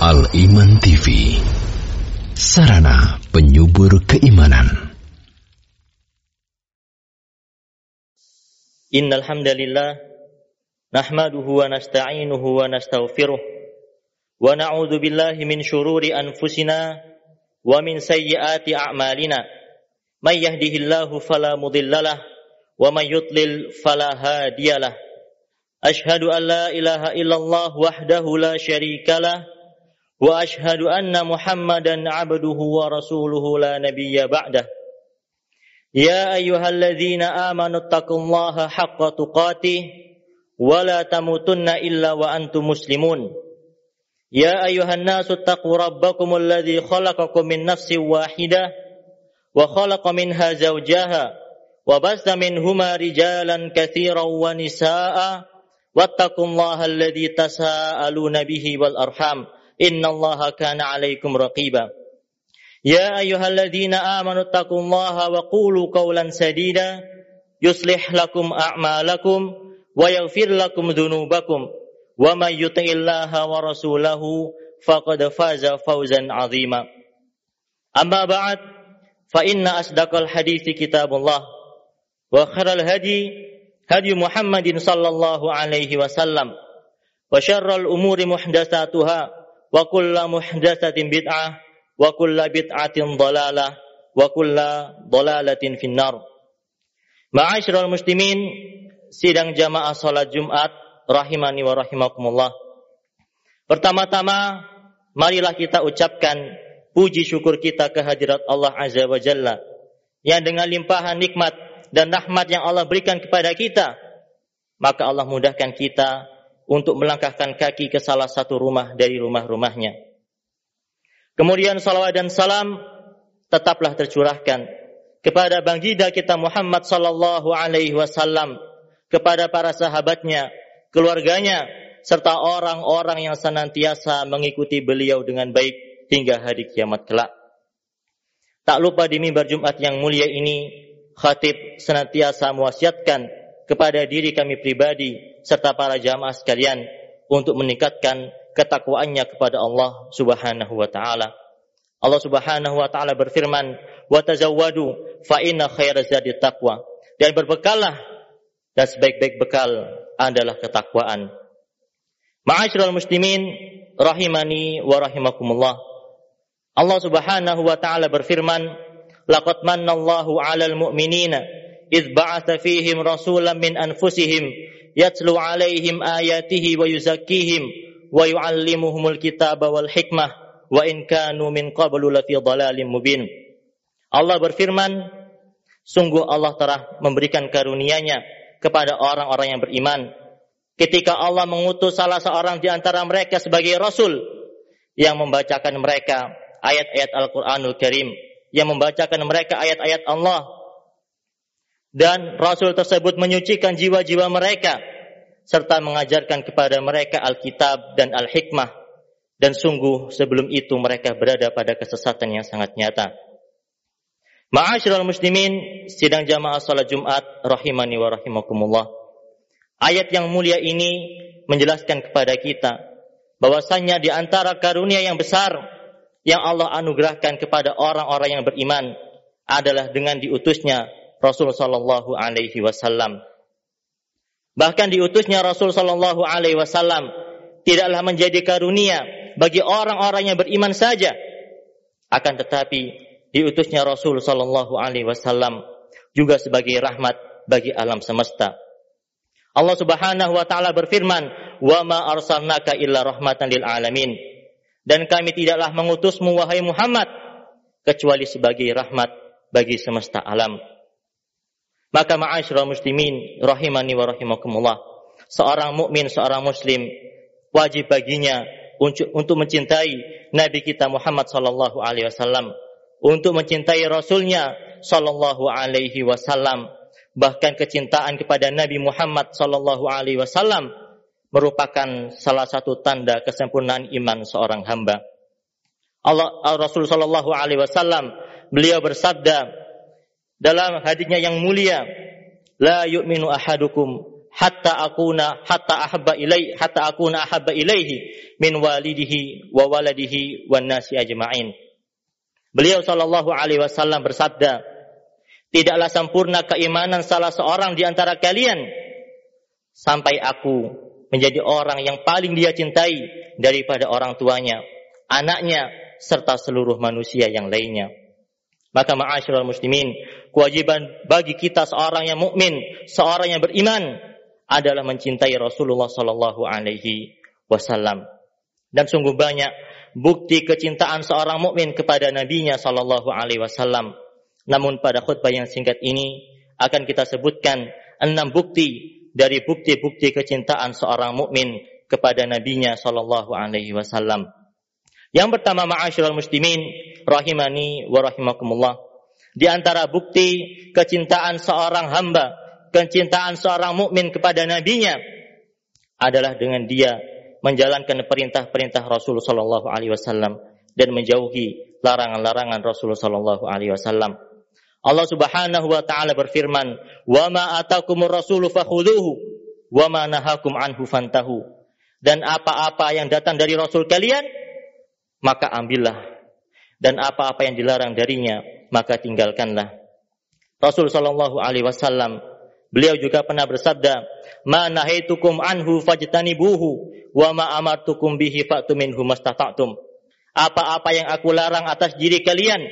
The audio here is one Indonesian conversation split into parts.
Al-Iman TV, sarana penyubur keimanan. Innal hamdalillah nahmaduhu wa nasta'inuhu wa nastaghfiruh wa na'udzu billahi min shururi anfusina wa min sayyiati a'malina. May yahdihillahu fala mudhillalah wa may yudlil fala hadiyalah. Ashhadu an la ilaha illallah wahdahu la syarikalah wa ashhadu anna Muhammadan 'abduhu wa rasuluhu la nabiyya ba'dah. Ya ayyuhalladzina amanu taqullaha haqqa tuqatih wa la tamutunna illa wa antum muslimun. Ya ayyuhan nasu taqu rabbakumul ladzi khalaqakum min nafsin wahidah wa khalaqa minha zawjaha wa basta minhuma rijalan katsiran wa nisaa'a wattaqullaha alladzi tasaaluna bihi wal arham innallaha kana 'alaikum raqiba. Ya ayyuhalladzina amanu taqullaha wa qulu qawlan sadida yuslih lakum a'malakum wa yaghfir lakum dhunubakum wa may yuti'illaha wa rasulahu faqad faza fawzan 'azima. Amma ba'd, fa inna asdaqal hadithi kitabullah wa khairal hadi Muhammadin sallallahu alaihi wasallam wa syarrul umuri muhdatsatuha wa kullu muhdatsatin bid'ah wa kullu bid'atin dhalalah wa kullu dhalalatin finnar. Ma'asyiral muslimin, sidang jamaah salat Jumat rahimani wa rahimakumullah. Pertama-tama marilah kita ucapkan puji syukur kita kehadirat Allah Azza wa Jalla yang dengan limpahan nikmat dan rahmat yang Allah berikan kepada kita, maka Allah mudahkan kita untuk melangkahkan kaki ke salah satu rumah dari rumah-rumahnya. Kemudian salawat dan salam tetaplah tercurahkan kepada baginda kita Muhammad sallallahu alaihi wasallam, kepada para sahabatnya, keluarganya, serta orang-orang yang senantiasa mengikuti beliau dengan baik hingga hari kiamat kelak. Tak lupa di mimbar Jumat yang mulia ini, khatib senantiasa mewasiatkan kepada diri kami pribadi serta para jamaah sekalian untuk meningkatkan ketakwaannya kepada Allah Subhanahu wa taala. Allah Subhanahu wa taala berfirman, "Wa tazawwadu fa inna khairaz zadi taqwa." Dan berbekallah, dan sebaik-baik bekal adalah ketakwaan. Ma'asyiral muslimin rahimani wa rahimakumullah. Allah Subhanahu wa taala berfirman, laqad mannallahu 'alal mu'minina idz ba'atsa fihim rasulan min anfusihim yatlu 'alaihim ayatihi wa yuzakkihim wa yu'allimuhumul kitaba wal hikmah wa in kanu min qablu lafi dhalalin mubin. Allah berfirman, sungguh Allah telah memberikan karunia-Nya kepada orang-orang yang beriman ketika Allah mengutus salah seorang di antara mereka sebagai rasul yang membacakan mereka ayat-ayat Al-Qur'anul Karim, yang membacakan mereka ayat-ayat Allah, dan Rasul tersebut menyucikan jiwa-jiwa mereka serta mengajarkan kepada mereka Alkitab dan Al-Hikmah, dan sungguh sebelum itu mereka berada pada kesesatan yang sangat nyata. Ma'asyiral muslimin, sidang jamaah salat Jumat rahimani wa rahimakumullah. Ayat yang mulia ini menjelaskan kepada kita bahwasannya di antara karunia yang besar yang Allah anugerahkan kepada orang-orang yang beriman adalah dengan diutusnya Rasul sallallahu alaihi wasallam. Bahkan diutusnya Rasul sallallahu alaihi wasallam tidaklah menjadi karunia bagi orang-orang yang beriman saja, akan tetapi diutusnya Rasul sallallahu alaihi wasallam juga sebagai rahmat bagi alam semesta. Allah Subhanahu wa taala berfirman, "Wa ma arsalnaka illa rahmatan lil alamin." Dan kami tidaklah mengutusmu wahai Muhammad kecuali sebagai rahmat bagi semesta alam. Maka ma'asyiral muslimin rahimani wa rahimakumullah, seorang mukmin, seorang muslim wajib baginya untuk mencintai Nabi kita Muhammad sallallahu alaihi wasallam, untuk mencintai Rasulnya sallallahu alaihi wasallam. Bahkan kecintaan kepada Nabi Muhammad sallallahu alaihi wasallam merupakan salah satu tanda kesempurnaan iman seorang hamba. Rasul sallallahu alaihi wasallam beliau bersabda dalam hadisnya yang mulia, "La yu'minu ahadukum hatta akuna ahabba ilaihi min walidihi wa waladihi wan nasi ajma'in. Beliau sallallahu alaihi wasallam bersabda, tidaklah sempurna keimanan salah seorang di antara kalian sampai aku menjadi orang yang paling dia cintai daripada orang tuanya, anaknya, serta seluruh manusia yang lainnya. Maka ma'asyiral muslimin, kewajiban bagi kita seorang yang mukmin, seorang yang beriman adalah mencintai Rasulullah sallallahu alaihi wasallam. Dan sungguh banyak bukti kecintaan seorang mukmin kepada nabinya sallallahu alaihi wasallam. Namun pada khutbah yang singkat ini akan kita sebutkan 6 bukti dari bukti-bukti kecintaan seorang mukmin kepada nabinya sallallahu alaihi wasallam. Yang pertama, ma'asyiral muslimin rahimani wa rahimakumullah, di antara bukti kecintaan seorang hamba, kecintaan seorang mukmin kepada nabinya adalah dengan dia menjalankan perintah-perintah Rasulullah sallallahu alaihi wasallam dan menjauhi larangan-larangan Rasulullah sallallahu alaihi wasallam. Allah Subhanahu wa taala berfirman, "Wa ma atakumur rasulu fakhudhuhu wa ma nahakum anhu fantahu." Dan apa-apa yang datang dari Rasul kalian, maka ambillah. Dan apa-apa yang dilarang darinya, maka tinggalkanlah. Rasul sallallahu alaihi wasallam, beliau juga pernah bersabda, "Ma nahaitukum anhu fajtanibuhu wa ma amartukum bihi fa'tu minhu mastata'tum." Apa-apa yang aku larang atas diri kalian,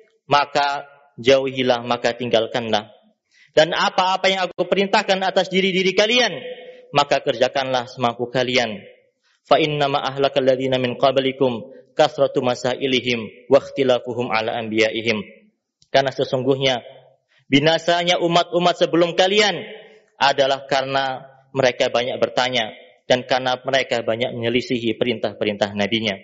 maka jauhilah, maka tinggalkanlah. Dan apa-apa yang aku perintahkan atas diri-diri kalian, maka kerjakanlah semampu kalian. Fa innama ahlakal ladzina min qablikum kasratu masailihim wa ikhtilafuhum ala anbiya'ihim. Karena sesungguhnya binasanya umat-umat sebelum kalian adalah karena mereka banyak bertanya dan karena mereka banyak menyelisihi perintah-perintah nabinya.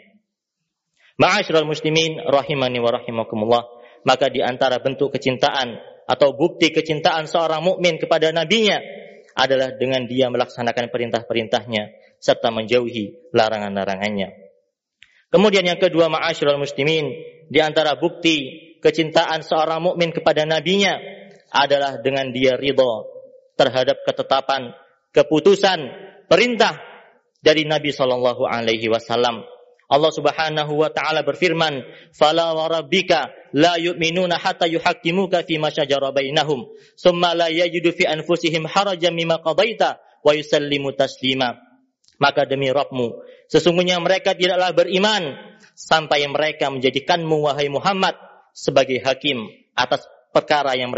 Ma'asyiral muslimin rahimani wa rahimakumullah, maka di antara bentuk kecintaan atau bukti kecintaan seorang mukmin kepada nabinya adalah dengan dia melaksanakan perintah-perintahnya serta menjauhi larangan-larangannya. Kemudian yang kedua, ma'asyiral muslimin, di antara bukti kecintaan seorang mukmin kepada nabinya adalah dengan dia ridha terhadap ketetapan, keputusan, perintah dari Nabi sallallahu alaihi wasallam. Allah Subhanahu wa taala berfirman, "Fala wa rabbika la yu'minuna hatta yuhaqqimuka fi ma shajara bainahum, tsumma la yajidu fi anfusihim harajan mimma qadaita wa yusallimu taslima." Maka demi Rabbmu, sesungguhnya mereka tidaklah beriman sampai mereka menjadikanmu wahai Muhammad sebagai hakim atas perkara yang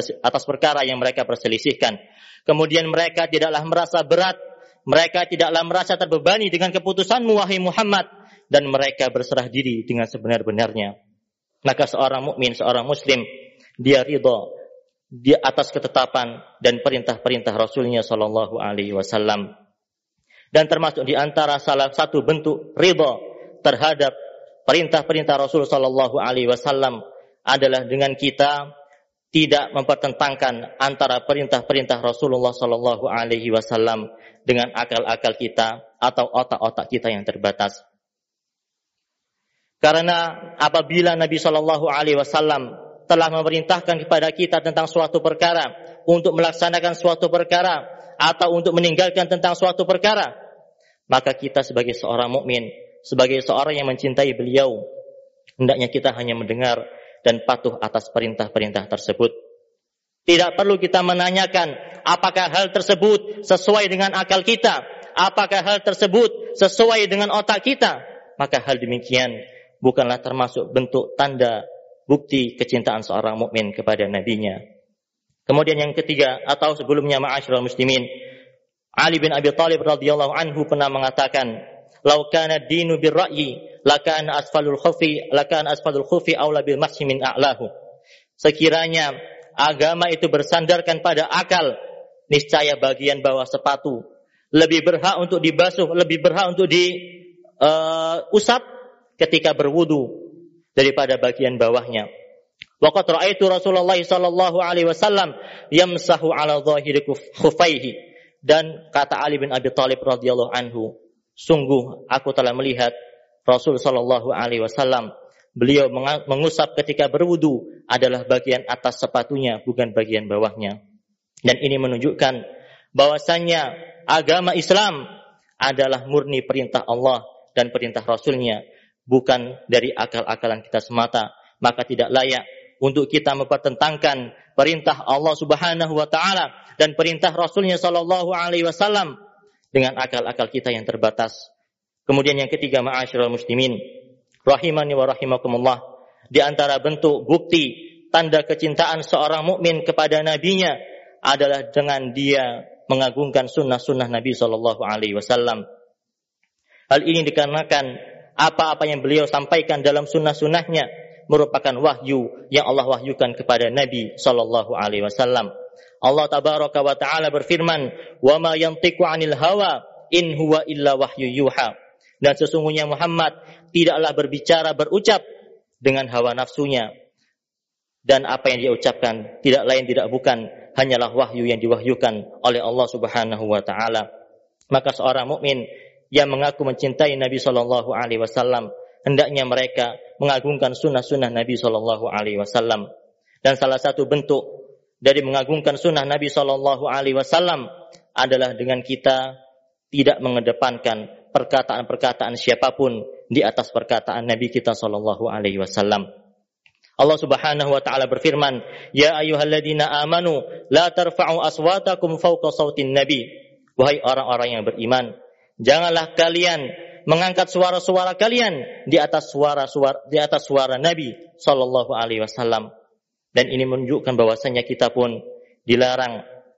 mereka perselisihkan. Kemudian mereka tidaklah merasa berat, mereka tidaklah merasa terbebani dengan keputusanmu wahai Muhammad, dan mereka berserah diri dengan sebenar-benarnya. Maka seorang mukmin, seorang muslim, dia ridha di atas ketetapan dan perintah-perintah Rasulnya sallallahu alaihi wasallam. Dan termasuk di antara salah satu bentuk ridha terhadap perintah-perintah Rasul sallallahu alaihi wasallam adalah dengan kita tidak mempertentangkan antara perintah-perintah Rasulullah sallallahu alaihi wasallam dengan akal-akal kita atau otak-otak kita yang terbatas. Karena apabila Nabi sallallahu alaihi wasallam telah memerintahkan kepada kita tentang suatu perkara, untuk melaksanakan suatu perkara atau untuk meninggalkan tentang suatu perkara, maka kita sebagai seorang mukmin, sebagai seorang yang mencintai beliau, hendaknya kita hanya mendengar dan patuh atas perintah-perintah tersebut. Tidak perlu kita menanyakan apakah hal tersebut sesuai dengan akal kita, apakah hal tersebut sesuai dengan otak kita. Maka hal demikian bukanlah termasuk bentuk tanda bukti kecintaan seorang mukmin kepada nabinya. Kemudian yang ketiga, atau sebelumnya, ma'asyiral muslimin, Ali bin Abi Thalib radhiyallahu anhu pernah mengatakan, "Lau kana ad-dinu bir-ra'yi, lakana asfalul khufi aula bil masyi min a'lahu." Sekiranya agama itu bersandarkan pada akal, niscaya bagian bawah sepatu lebih berhak untuk dibasuh, lebih berhak untuk diusap ketika berwudu daripada bagian bawahnya. Waqad ra'aitu Rasulullah sallallahu alaihi wasallam yamsahu ala dhahiri khuffaihi. Dan kata Ali bin Abi Thalib radhiyallahu anhu, sungguh aku telah melihat Rasul sallallahu alaihi wasallam, beliau mengusap ketika berwudu adalah bagian atas sepatunya, bukan bagian bawahnya. Dan ini menunjukkan bahwasanya agama Islam adalah murni perintah Allah dan perintah Rasul-Nya, bukan dari akal-akalan kita semata, maka tidak layak untuk kita mempertentangkan perintah Allah Subhanahu wa taala dan perintah Rasul-Nya sallallahu alaihi wasallam dengan akal-akal kita yang terbatas. Kemudian yang ketiga, ma'asyiral muslimin rahimani wa rahimakumullah, di antara bentuk bukti tanda kecintaan seorang mukmin kepada nabinya adalah dengan dia mengagungkan sunnah-sunnah Nabi sallallahu alaihi wasallam. Hal ini dikarenakan apa-apa yang beliau sampaikan dalam sunnah-sunnahnya merupakan wahyu yang Allah wahyukan kepada Nabi sallallahu alaihi wasallam. Allah tabaraka wa taala berfirman, "Wa ma yantiqu 'anil hawa in huwa illa wahyu yuha." Dan sesungguhnya Muhammad tidaklah berbicara berucap dengan hawa nafsunya, dan apa yang dia ucapkan tidak lain tidak bukan hanyalah wahyu yang diwahyukan oleh Allah Subhanahu wa taala. Maka seorang mukmin yang mengaku mencintai Nabi sallallahu alaihi wasallam hendaknya mereka mengagungkan sunnah-sunnah Nabi sallallahu alaihi wasallam. Dan salah satu bentuk dari mengagungkan sunnah Nabi sallallahu alaihi wasallam adalah dengan kita tidak mengedepankan perkataan-perkataan siapapun di atas perkataan Nabi kita sallallahu alaihi wasallam. Allah Subhanahu wa taala berfirman, "Ya ayyuhalladzina amanu la tarfa'u aswatakum fawqa sautin nabi." Wahai orang-orang yang beriman, janganlah kalian mengangkat suara-suara kalian di atas suara Nabi sallallahu alaihi wasallam. Dan ini menunjukkan bahwasanya kita pun dilarang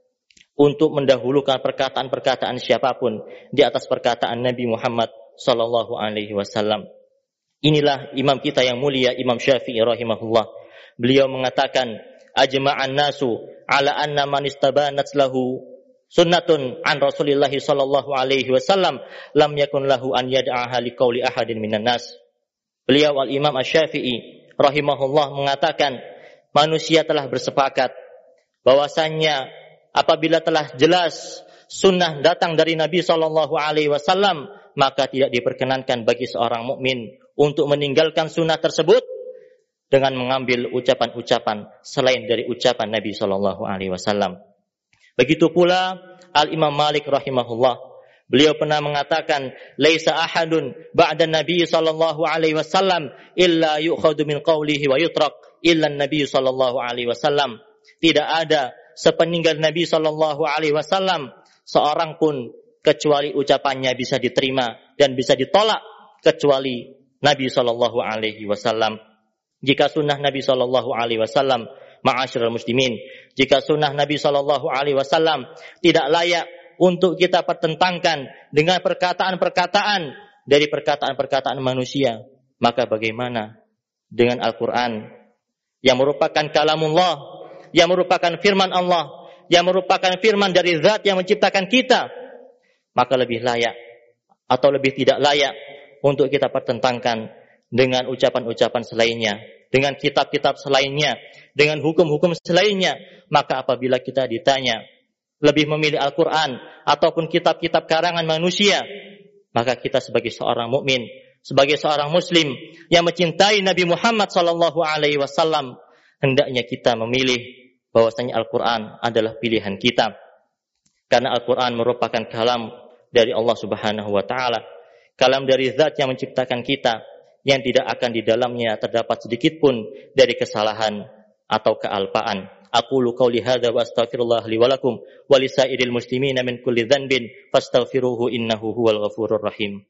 untuk mendahulukan perkataan-perkataan siapapun di atas perkataan Nabi Muhammad sallallahu alaihi wasallam. Inilah imam kita yang mulia, Imam Syafi'i rahimahullah. Beliau mengatakan, "Ajma'an nasu ala anna man istabanat lahu sunnatun an Rasulillah sallallahu alaihi wasallam lam yakun lahu an yad'aha liqauli ahadin minan nas." Beliau Al-Imam Asy-Syafi'i rahimahullah mengatakan, manusia telah bersepakat bahwasannya apabila telah jelas sunnah datang dari Nabi sallallahu alaihi wasallam, maka tidak diperkenankan bagi seorang mukmin untuk meninggalkan sunnah tersebut dengan mengambil ucapan-ucapan selain dari ucapan Nabi sallallahu alaihi wasallam. Begitu pula Al-Imam Malik rahimahullah, beliau pernah mengatakan, "Laisa ahadun ba'da Nabi sallallahu alaihi wasallam illa yu'khadhu min qawlihi wa yutrak illa Nabi sallallahu alaihi wasallam." Tidak ada sepeninggal Nabi sallallahu alaihi wasallam seorang pun kecuali ucapannya bisa diterima dan bisa ditolak kecuali Nabi sallallahu alaihi wasallam. Jika sunnah Nabi sallallahu alaihi wasallam, ma'asyiral muslimin, jika sunnah Nabi sallallahu alaihi wasallam tidak layak untuk kita pertentangkan dengan perkataan-perkataan dari perkataan-perkataan manusia, maka bagaimana dengan Al-Qur'an yang merupakan kalamullah, yang merupakan firman Allah, yang merupakan firman dari zat yang menciptakan kita? Maka lebih layak atau lebih tidak layak untuk kita pertentangkan dengan ucapan-ucapan selainnya, dengan kitab-kitab selainnya, dengan hukum-hukum selainnya. Maka apabila kita ditanya lebih memilih Al-Quran ataupun kitab-kitab karangan manusia, maka kita sebagai seorang mukmin, sebagai seorang muslim yang mencintai Nabi Muhammad sallallahu alaihi wasallam, hendaknya kita memilih bahwasanya Al-Quran adalah pilihan kita. Karena Al-Quran merupakan kalam dari Allah Subhanahu wa taala, kalam dari zat yang menciptakan kita, yang tidak akan di dalamnya terdapat sedikit pun dari kesalahan atau kealpaan. Aqulu qauli hadza wa astaghfirullah li wa lakum wa lisairil muslimina min kulli dhanbin fastaghfiruhu innahu huwal ghafurur rahim.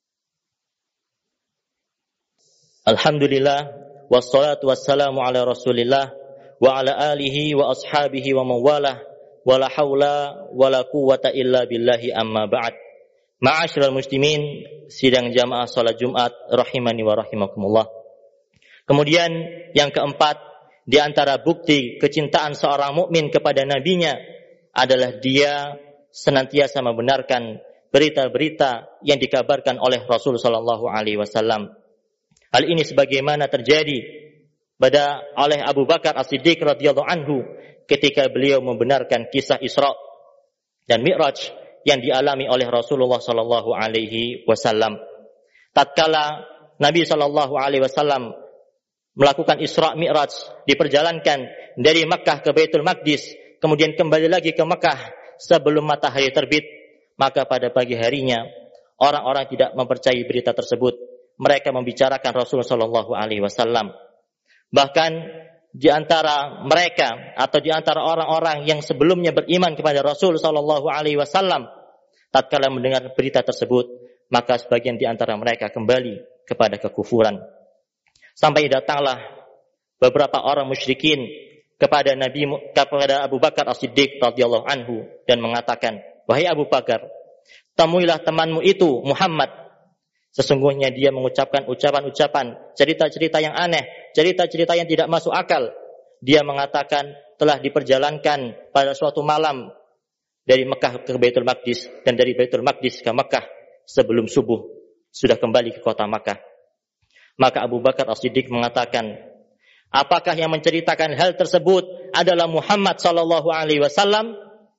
Alhamdulillah wassalatu wassalamu ala Rasulillah wa ala alihi wa ashabihi wa mawalah wa la haula wa la quwwata illa billahi amma ba'd. Ma'asyiral muslimin, sidang jamaah salat Jumat rahimani wa rahimakumullah. Kemudian yang keempat, di antara bukti kecintaan seorang mukmin kepada nabinya adalah dia senantiasa membenarkan berita-berita yang dikabarkan oleh Rasul sallallahu alaihi wasallam. Hal ini sebagaimana terjadi oleh Abu Bakar As-Siddiq radhiyallahu anhu ketika beliau membenarkan kisah Isra dan Mi'raj yang dialami oleh Rasulullah sallallahu alaihi wasallam. Tatkala Nabi sallallahu alaihi wasallam melakukan Isra Mi'raj, diperjalankan dari Makkah ke Baitul Maqdis, kemudian kembali lagi ke Makkah sebelum matahari terbit, maka pada pagi harinya orang-orang tidak mempercayai berita tersebut. Mereka membicarakan Rasul sallallahu alaihi wasallam. Bahkan di antara mereka atau di antara orang-orang yang sebelumnya beriman kepada Rasul sallallahu alaihi wasallam, tatkala mendengar berita tersebut, maka sebagian di antara mereka kembali kepada kekufuran. Sampai datanglah beberapa orang musyrikin kepada Abu Bakar As-Siddiq radhiyallahu anhu dan mengatakan, "Wahai Abu Bakar, temuilah temanmu itu Muhammad. Sesungguhnya dia mengucapkan ucapan-ucapan, cerita-cerita yang aneh, cerita-cerita yang tidak masuk akal. Dia mengatakan telah diperjalankan pada suatu malam dari Mekah ke Baitul Maqdis dan dari Baitul Maqdis ke Mekah sebelum subuh sudah kembali ke kota Makkah." Maka Abu Bakar As-Siddiq mengatakan, "Apakah yang menceritakan hal tersebut adalah Muhammad sallallahu alaihi wasallam?"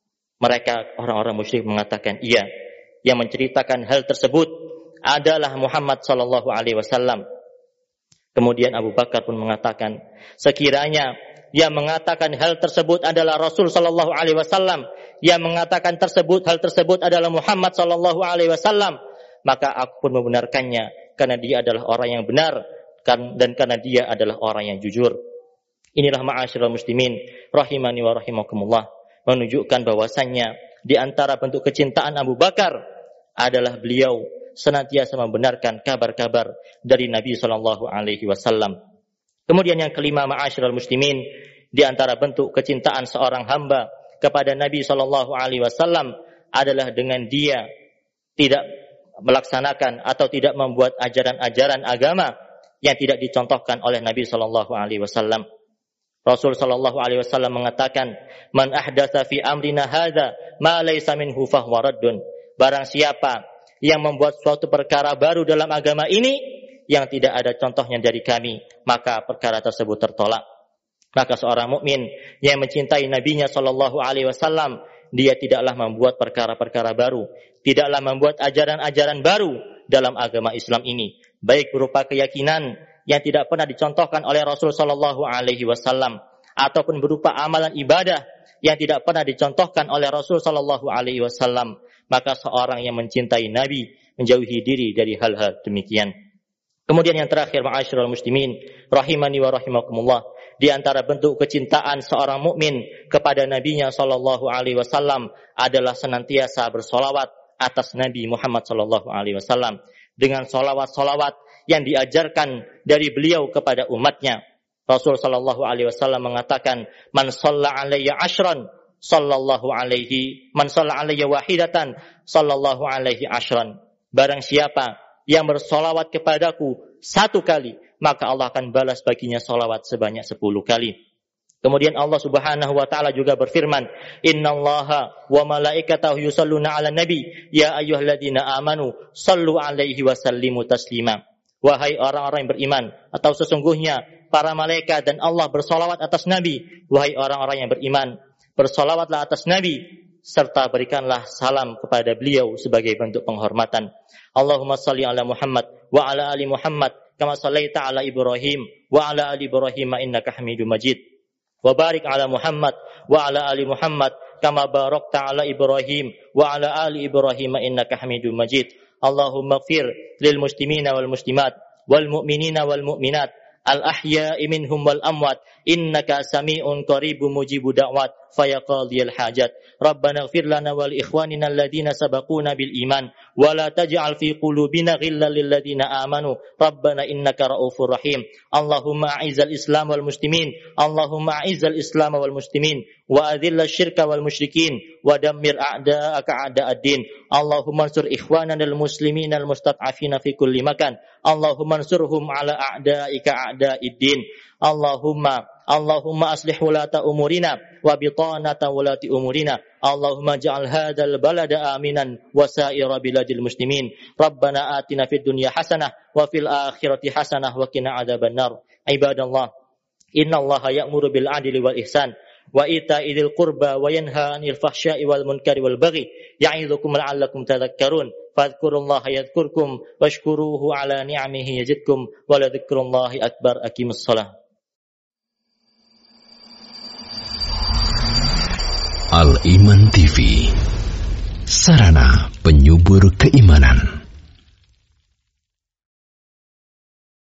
Mereka orang-orang musyrik mengatakan, "Iya, yang menceritakan hal tersebut adalah Muhammad sallallahu alaihi wasallam." Kemudian Abu Bakar pun mengatakan, "Sekiranya yang mengatakan hal tersebut adalah Rasul sallallahu alaihi wasallam, yang mengatakan hal tersebut adalah Muhammad sallallahu alaihi wasallam, maka aku pun membenarkannya karena dia adalah orang yang benar dan karena dia adalah orang yang jujur." Inilah ma'asyiral muslimin rahimani wa rahimakumullah, menunjukkan bahwasannya di antara bentuk kecintaan Abu Bakar adalah beliau senantiasa membenarkan kabar-kabar dari Nabi sallallahu alaihi wasallam. Kemudian yang kelima, ma'asyiral muslimin, di antara bentuk kecintaan seorang hamba kepada Nabi sallallahu alaihi wasallam adalah dengan dia tidak melaksanakan atau tidak membuat ajaran-ajaran agama yang tidak dicontohkan oleh Nabi sallallahu alaihi wasallam. Rasul sallallahu alaihi wasallam mengatakan, "Man ahdatsa fi amrina hadza ma laysa minhu fahuwa raddun." Barang siapa yang membuat suatu perkara baru dalam agama ini yang tidak ada contohnya dari kami, maka perkara tersebut tertolak. Maka seorang mukmin yang mencintai nabinya sallallahu alaihi wasallam, dia tidaklah membuat perkara-perkara baru, tidaklah membuat ajaran-ajaran baru dalam agama Islam ini, baik berupa keyakinan yang tidak pernah dicontohkan oleh Rasul sallallahu alaihi wasallam ataupun berupa amalan ibadah yang tidak pernah dicontohkan oleh Rasul sallallahu alaihi wasallam. Maka seorang yang mencintai Nabi menjauhi diri dari hal-hal demikian. Kemudian yang terakhir, ma'asyiral muslimin rahimani wa rahimakumullah, di antara bentuk kecintaan seorang mukmin kepada nabinya sallallahu alaihi wasallam adalah senantiasa bersolawat atas Nabi Muhammad sallallahu alaihi wasallam dengan solawat-solawat yang diajarkan dari beliau kepada umatnya. Rasul sallallahu alaihi wasallam mengatakan, "Man shalla alayya ashran sallallahu alaihi, man shalla alayya wahidatan sallallahu alaihi ashran." Barang siapa yang bersolawat kepadaku satu kali, maka Allah akan balas baginya solawat sebanyak 10 kali. Kemudian Allah Subhanahu wa taala juga berfirman, "Innallaha wa malaikatahu yusholluna 'alan nabi, ya ayyuhalladzina amanu shallu 'alaihi wa sallimu taslima." Wahai orang-orang yang beriman, atau sesungguhnya para malaikat dan Allah bersolawat atas Nabi. Wahai orang-orang yang beriman, bersolawatlah atas Nabi serta berikanlah salam kepada beliau sebagai bentuk penghormatan. Allahumma salli ala Muhammad wa ala ali Muhammad kama sallaita ala Ibrahim wa ala ali Ibrahim innaka Hamidum Majid. Wa barik ala Muhammad wa ala ali Muhammad kama barakta ala Ibrahim wa ala ali Ibrahim innaka Hamidum Majid. Allahumma ighfir lil muslimina wal muslimat wal mu'minina wal mu'minat al ahya'i minhum wal amwat innaka sami'un qaribun mujibu da'wat fayaqadiyal hajat. Rabbana ighfir lana wal ikhwanina alladhina sabaquna bil iman wa la taj'al fi qulubina ghillan lil ladzina amanu rabbana innaka raufur rahim. Allahumma a'izzal islam wal muslimin, Allahumma a'izzal islam wal muslimin wa adhillal syirka wal musyrikin wa dammir a'da'aka a'da'ad-din. Allahumma ansur ikhwanana al muslimina al mustad'afina fi kulli makan. Allahumma ansurhum ala a'da'ika a'da'id-din. Allahumma aslih wulata umurina wa bitanata wulati umurina. Allahumma ja'al hadzal balada aminan wa sa'ira biladil muslimin. Rabbana atina fid dunya hasanah wa fil akhirati hasanah wa qina adzabannar. Ibadallah, innallaha ya'muru bil 'adli wal ihsan wa ita'i dzil qurba wa yanha 'anil fahsya'i wal munkari wal baghi ya'idzukum la'allakum tadhakkarun. Fadhkurullaha yadhkurkum washkuruhu 'ala ni'amihi yazidkum wa la dzikrullahi akbar. Aqimussalah. Al Iman TV, sarana penyubur keimanan.